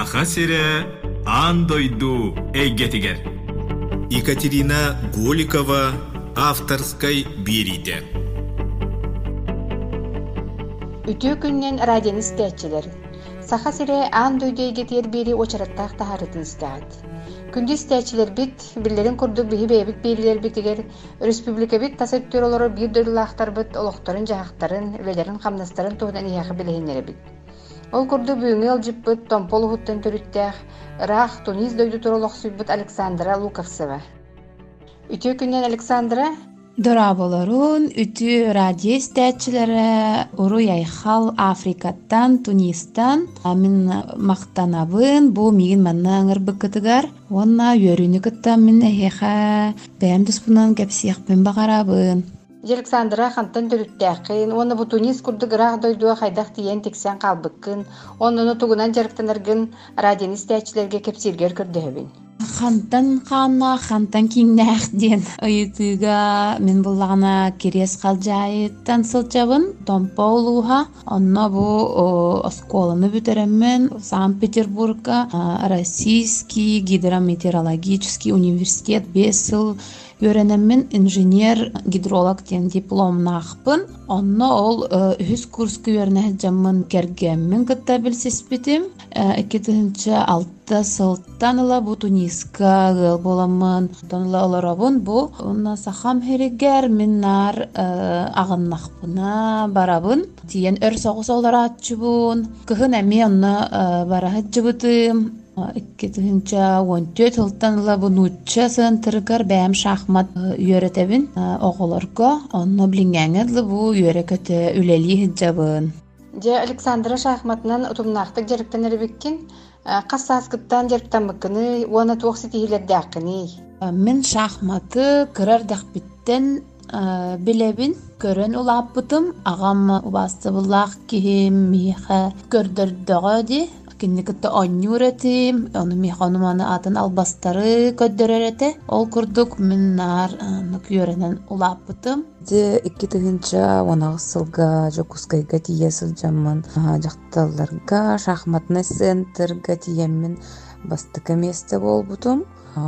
Саха сире андойду эйгетигер. Екатерина Голикова авторской бириде. Үтүү күннен радион истәчеләр. Саха сире андойду эйгетер бири очараттак тахарытын истәгәт. Күндү истәчеләр бит билләрен курдук биһи бәйбит бириләр битигер республика бит тасыттыр олары бир дөрүләхтар бит олохтарын жахтарын велерин камнастарын тугдан яхы билегеннәр бит. Ол курду бүгүнгел жиппыт томпол хуттан төрүттәх рах Тунис дойду туролох сүббит Александра Луковцева. Үтүү күннен Александра Дораболорун үтүү радио истәчеләре уру яйхал Африкаттан, Тунистан амин мактанабын бу мигин маннаңыр быкытыгар онна йөрүнү кыттан мен эха бәмдис бунан кепсиях бен багарабын. Александра хантан төрүттәкин, оны бу Тунис курду грах дойдуа хайдах тиен тексен калбыккын, онны тугунан жарыктаныргын радио истәчеләргә кепсиргер көрдөбүн. Хантан киннәх ден ыйтыга мен буллагына керес калжайыттан сылчабын Томполуха онна бу осколаны бүтереммен Санкт-Петербургка Российский гидрометеорологический университет 5 жыл Öğrenimmin inженер гидролог ден дипломнахпын. Онно ол үз курска öğreneceğimin kergemmin кытта билсеспитим. 2006 сылттан ыла бу Туниска гыл боламын. Тонла оларабын бу. Онна сахам херегер миннар агыннахпына барабын. Тиен өр соғыс олара атчыбын. Кыхын әме онна барахатчыбытым. 2014 жылдан ыла бу нучча сынтыргар бәм шахмат үйрәтәбин оголорга. Онно билингәнгәдле бу үйрәкәте үләли хиҗабын. Же Александра шахматнан утумнактык жарыктан эрбеккин, кассаскыттан жарыктан быккыны, уана туоксы тиһилердәккыны. Мен шахматы кырар дәхбиттен билебин, көрөн улаппытым, агам убасты буллах кихим миха көрдөрдөгөди. Кинникетте аннюретим, оны механыманы атын албастары көддөрөрете. Ол курдук миннар нөкүренен улаппытым. Де 2019 сылга жокускайга тиесил жамман жакталларга шахматный центрга тиеммин бастыка месте болбутум.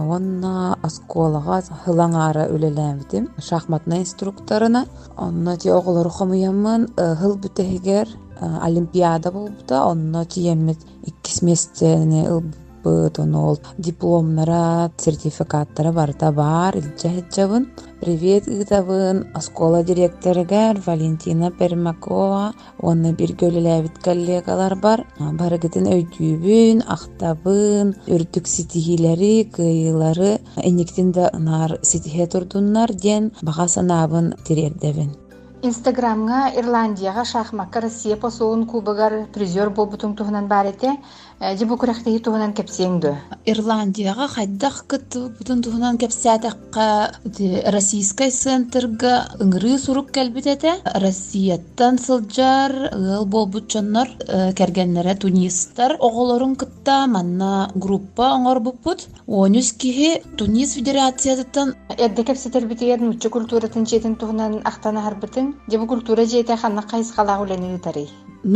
Онна осколага хылаңара үлеләмдим шахматный инструкторына. Онна ти оголор хомуяммын хыл бүтегер олимпиада болбута. Онна тиеммит 2 местени ылбыт онол дипломнара, сертификаттары барта бар илчәһәҗәбын. Привет итабын оскола директорыгар Валентина Пермакова. Онна бир гөлеләбит коллегалар бар. Барыгытын өйдүбүн, актабын, үрдүк ситихилери, кыйлары, энектинде нар ситихе турдуннар ден бага санабын тирердебин. Инстаграмга Ирландияга шахматка Россия посуун кубагар призер болбутун туһунан барете. Жибу күрәхтеһи туһунан кепсеңдө. Ирландияга хайдах кыт бутун туһунан кепсәтәккә Российский центрга ыңгыры сурук кәлбитәтә. Россияттан сылҗар ыл болбутчаннар кергәннәре Тунистар оголорун кытта манна группа аңар бупут. 13 киһи Тунис федерациятын Эдде кепсетер битер муччу культуратын жетин туһунан ахтана харбытын. Жибу культура жете ханна кайс кала улене тарый.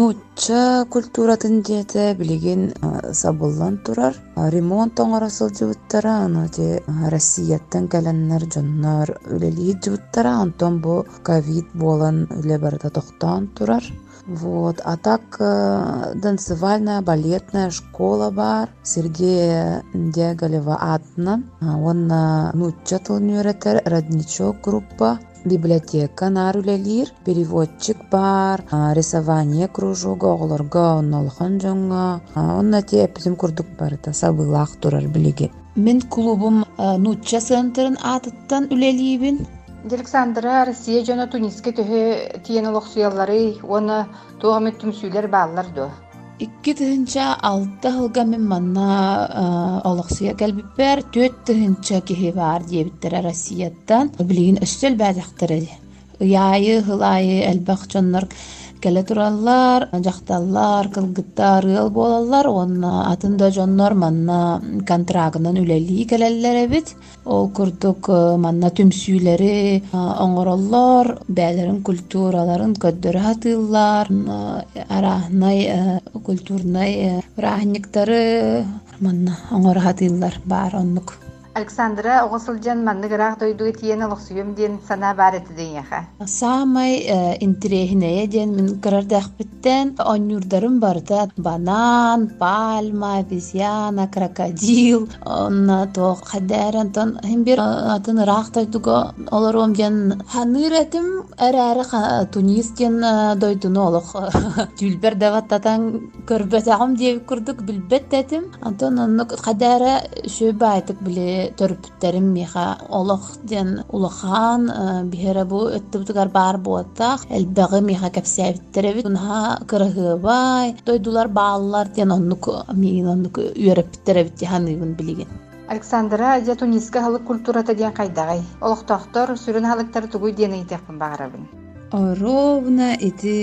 Нучча культуратын жете билеген сабыллан турар. Ремонт оңарасыл жыбыттара, анати Россияттан кәләннәр жоннар үлели жыбыттара, антон бу ковид болан үле барда тоқтан турар. Вот, а так танцевальная, балетная школа бар. Сергея Деголева атынан. Онна нучча тылын өретер, родничок группа. Библиотека нарулелир, переводчик бар, рисование кружога, оголорга оннолхан жоңга. Онна те эпизим курдук бар, та сабылах турар билиге. Мен клубум нучча центрын атыттан үлелибин. Александра Россия жона Туниске төһө тиен олохсуяллары, оны тугамет түмсүйлер баллар до. 2006 жылга мен манна олохсуя кәлбиппер 4 киһи бар диэбиттер Россияттан билигин өстөл бәдәхтер. Яйы, хылайы, әлбәқ жоннар келе тураллар, жакталлар, кылгыттар ыл болалар, онна атында жоннор манна контрагынан үлели келеллер эбит. Ол курдук манна түмсүйлери оңороллор, бәлерин культураларын көддөрө хатыллар, арахнай культурнай рахниктары манна оңоро хатыллар бар оннук. Александра оғысылжан манныгырақ дойдуы тиен олықсуем ден сана бар етіден яха. Самай интереснее ден мен кырардақ біттен онюрдарым барда банан, пальма, обезьяна, крокодил, онна тоқ қадаран тон хембер атын рақ дойдуға оларом ден ханыр әтім әрі Тунис ден дойдуны олық түлбер даваттатан көрбетағым деп күрдік білбет әтім. Антон онны қадары шөбі айтық біле төрпүттерим миха олох ден улахан бихера бу өттүбүтүгар бар буаттак элбеги миха кепсебиттеребит унха кырыгыбай дойдулар бааллар ден оннук миин оннук үйөрөпүттеребит ханыгын билеген. Александра же Туниска халык культурата ден кайдагай олохтоктор сүрүн халыктар тугуй ден ыйтекпин багарабын. Ровно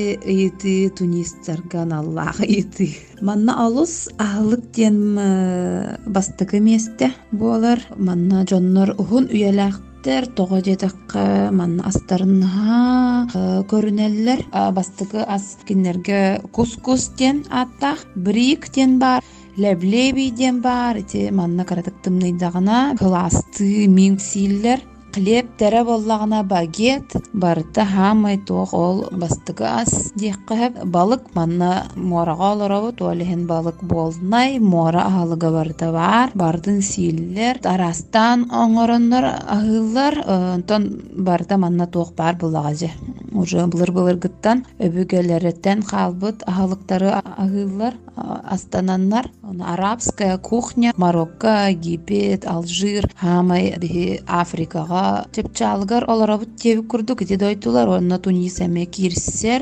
эти тунисцарган Аллах эти. Манна алус ахлык ден бастыгы месте болар. Манна жоннор ухун үйелактер тоғы жетаққа манна астарынға көрінелер. Бастыгы ас кинерге кускус ден аттақ, брик ден бар. Леблеби ден бар. Эти манна каратыктымныйдағына класты минсиллер. Хлеб тәрі боллағына багет, барыта хамай тоқ ол бастығы ас дейққып. Балық манна мораға оларабыт, олығын балық болнай, мора ағалыға барыта бар. Бардың сийлер, арастан оңырынлар ағылар, онтон барыта манна тоқ бар болағажы. Уже бұлыр гыттан өбігелереттен қалбыт ағалықтары ағылар, астананлар. Арабская кухня, Марокко, Египет, Алжир, хамай Африкаға чепчалгар оларабыт теби курдук ити дойтулар. Онна Тунис эме кирсер,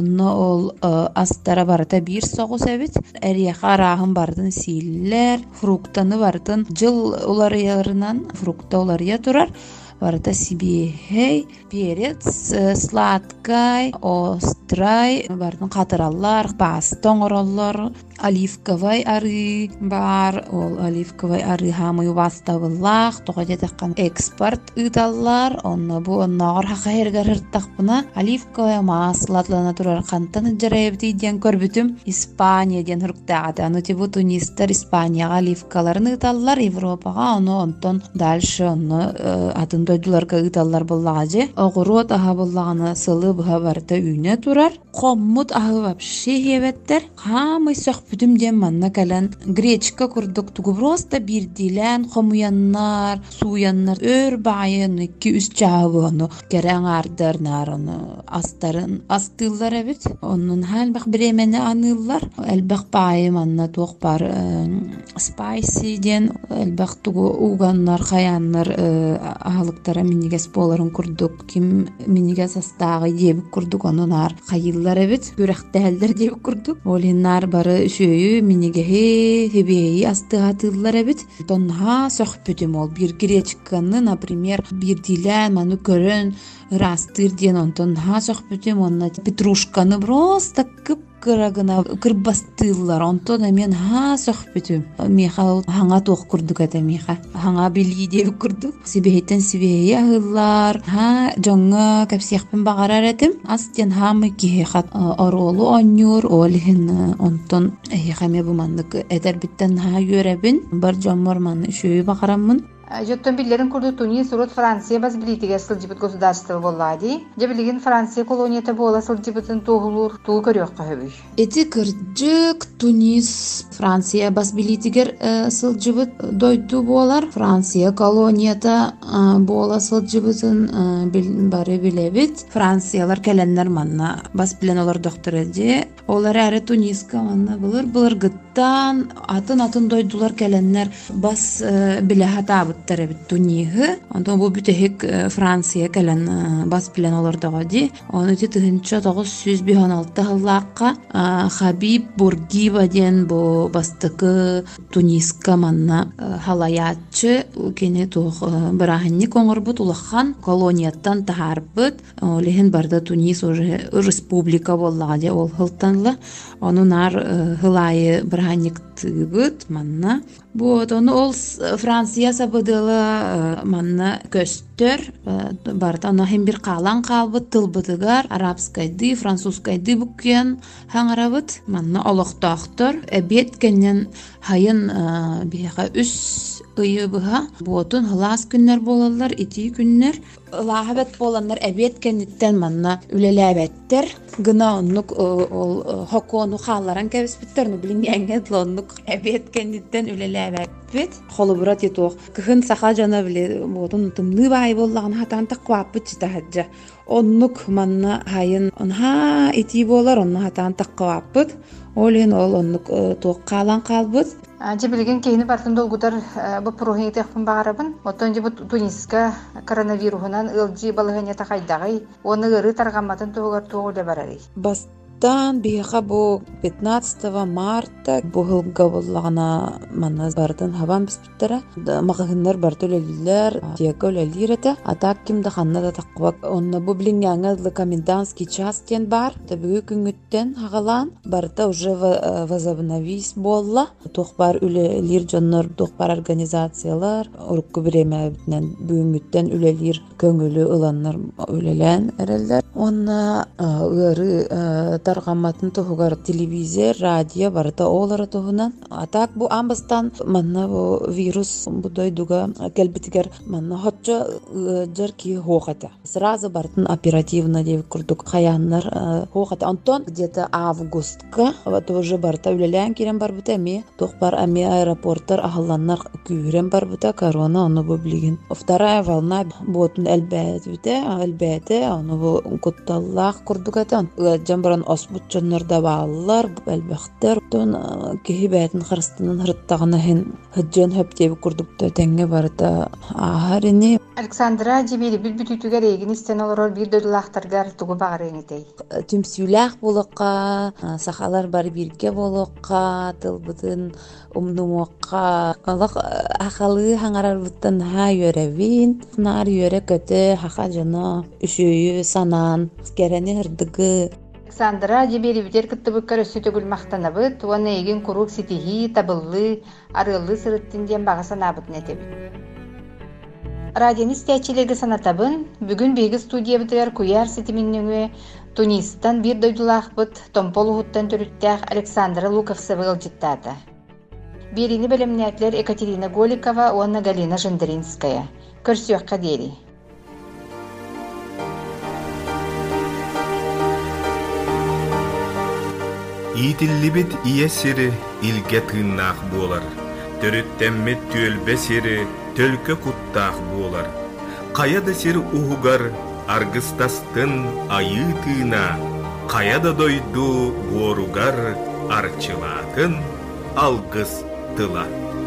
ол астара барыта бир соғус эбит. Әрияқа арағын бардын сийлер, фруктаны бардын жыл оларыярынан фрукта оларыя турар. Барыта сибихей, перец, сладкай, острай, бардын қатыраллар, бастоңороллар, оливковай ары бар, ол оливковай ары хамы бастабыллах, тоға детаққан экспорт ыдаллар, онна бу оннағыр хақа хергар хырттақпына, оливковай маслатлана турар қантаны жарайбыты ден көрбітім Испания ден хырқтағады. Аны тебу Тунистар Испанияға оливкаларын ыдаллар, Европаға, оны онтон дальше оны атын дойдуларға ыдаллар боллағажы. Оғырот аға боллағаны сылы бұға барыта үйне турар. Қоммут ағы вообще хеветтер. Хамы соқ бүтім ден манна кәлін гречка күрдік тугу просто бірдилен қомуяннар, суяннар, өр байын, 2-3 жағы оны керен ардырнар, оны астарын астылар әбіт. Оның әлбәқ біремені анылар. Әлбәқ байы манна тоқ бар спайси ден, әлбәқ тугу уғаннар, қаяннар ағалықтара минигес боларын күрдік. Ким минигес астағы дебік күрдік, оның ар қайылар әбіт. Көрәқті әлдер дебік күрдік. Олинар бары шөйі минигехи хебейі астығатылар әбіт. Тонға соқ бүтім ол. Bir гречканы, например, bir дилен, ману көрін, растыр ден, онтон ха соқ бүтім, онна петрушканы просто кіп кырагына кырбастыллар, онтон мен ха соқ бүтім. Меха хаңа тоқ күрдік әті меха. Хаңа білі деп күрдік. Сибейттен сибейі ағылар. Ха жоңға кәпсияқпен бағарар әтім. Астен хамы кейхат оролу онюр, олығын онтон хаме бұмандық әдер біттен ха өрәбін. Бар жомор маны шөй бағарамын. Жоттон биллерин курду Тунис, урут Франция баз билитиге сылжыбыт государство боллади. Жабилигин Франция колонията бола сылжыбытын туғылур, туғы көрек қағыбый. Эти кырджык Тунис, Франция баз билитигер сылжыбыт дойду болар. Франция колонията бола сылжыбытын бары билебит. Франциялар кәленнер манна баз билен олар доктор эде. Олар әрі Туниска манна былыр гыттан атын дойдулар кәленнер баз биле хатабыт. баттары бит туниһы. Онтон бу бүтехик Франция кэлэн бас билен олордоҕо ди. Оны ти тыһынча 916 хыллаакка Хабиб Бургиба диэн бу бастыкы Туниска манна халаячы кини тух бырахынник оҥорбут улахан колонияттан тахарбыт. Олехин барда Тунис уже республика боллага де ол хылтанла. Onu nar hılayı bırhannik tığıbıt manna. Bu onu ol Fransiya sabıdılı manna köstör. Barda ona hem bir kalan kalbıt tılbıdıgar. Arapskaydı, Fransuskaydı bukyen hangarabıt. Manna oloqtaqtır. Ebet kenen hayın bihaqa üs ıyı bıha. Bu otun hılas günler bolallar, iti günler. Lahabet bolanlar ebet kenitten manna ülelebettir. Gına onluk hokonu xallaran kebisbitterni bilingenge onluk ebet kenitten ülelebet. Xolubrat yetuq. Kıhın saxa jana bile botun tımlı bay bollağın hatan taqwapıt jitahajja. Onluk manna hayın onha iti bolar onna hatan taqwapıt. Olin ol onluk tuq qalan qalbıt. Anca bilgin keyini bartın dolgudar bu prohini tekpun bağırabın. Otonca bu Tuniska koronavirusundan ılcı balığınya taqaydağay. Onu ırı targammatın tuğugar tuğuyla bararı. Бастан биха бу 15 марта бу хылга боллагына манна бардын хабан биспиттера магыннар бартөлелилер диакөлелирете атак кимде ханна да таква онна бу билингәнгә комендантский час тен бар бүгү күнгүттен хагалан барда уже возобновись болла тохбар үлелир жоннор тохбар организациялар урукку биреме битнен бүгүнгүттен үлелир көңүлү ыланнар үлелен эрелдер онна ыры таргаматын тугар телевизия, радио барда олары тугунан. Атак бу амбастан манна бу вирус будойдуга келбитигер манна хотчо жерки хохата. Сразу бартын оперативно деп курдук хаяннар хохата. Антон где-то августка вот уже барта үлелен кирен бар бута ми тохбар ами аэропорттар ахалланнар күйрен бар бута корона аны бу билген. Вторая волна ботун элбете аны бу кутталлах курдугатан жамбаран осбутчаннарда бааллар элбехтер тон кехибетин хырстынын хырттагына хен хыджан хөптеби курдукта теңге барда ахарини Александра жибири бүт-бүтүгөр эгин истен олорор бир дөдүлактаргар тугу багырынгытей. Түмсүлах болокка сахалар бар бирге болокка тылбытын умнумокка алак ахалы хаңарар буттан ха йөревин нар йөре көтө хаха жана үшөйү санан керени хырдыгы Александра жибири бүтер кыттыбыккар өссү төгүл мактанабыт, уаны эгин курук ситихи, табыллы, арыллы сырыттын ден багасанабытын этебит. Радионы стячилерге санатабын, бүгүн биги студия битер куяр ситиминнөңө Тунистан бир дойдулахбыт, томполугуттан төрүттәк Александра Луковцева ылжыттата. Бирини белемнәтлер Екатерина Голикова, уаны Галина Жендринская. Көрсөккө дери. Итиллибит иесири илге тыыннаах буолар. Төрүттэммит түөлбе сири төлкө куттаах буолар. Каяда сир уһугар аргыстастын айы тыына. Каяда дойду буоругар арчылаатын алгыс тыла.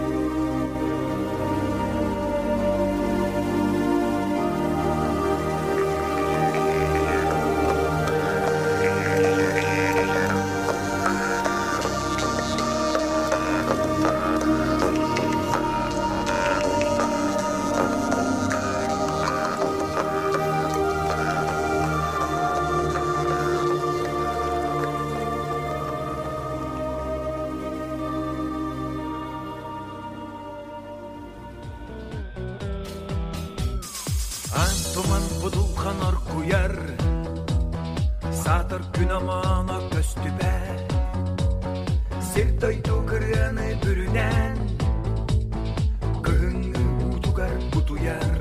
Антоман будулхан оркуяр Сатыр күн амана көстүбе Сертойду кырыны бүрүнен Кыһыңы утугар бутуяр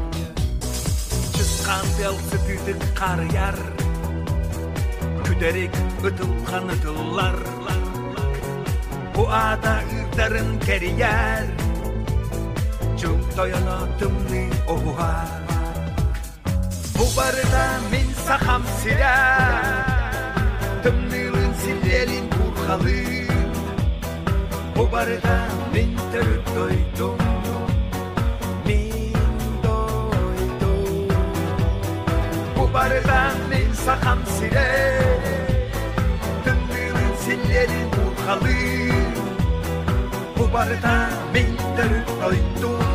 Чыскан белсы тыдык карыяр Күдерек ытылхан ытыллар Бу ада ырдарын керияр Чук тояна тымны оғуар Bu barıda min saham sira Tımnılın silelin kurhalı Bu barıda min törüp doydum барда мен сахам сире тыңдылын силлерин урхалы бу барда мен төрүп койдум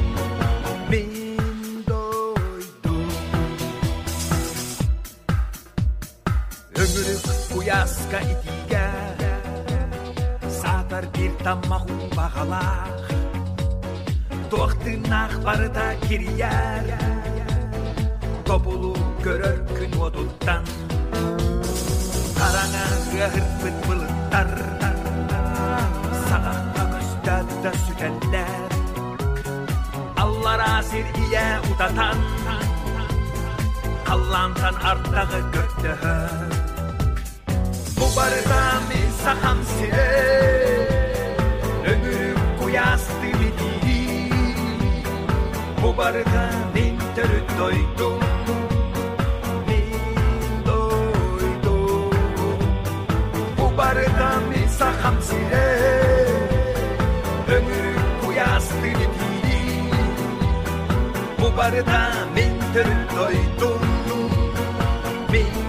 Уяска итиге сатар бир таммаху бағалақ тоқтынақ барыда кирияр тобулу көрөр күн одуттан қараңа ғырбыт бұлыттар сағаққа көстәді сүтәлләр аллар асир ие утатан қаллантан арттағы көттіғір Bu barda men saham sire ömürüm kuyastı bidi Bu barda men törüt doydum Bu barda men saham sire ömürüm kuyastı bidi Bu barda men törüt doydum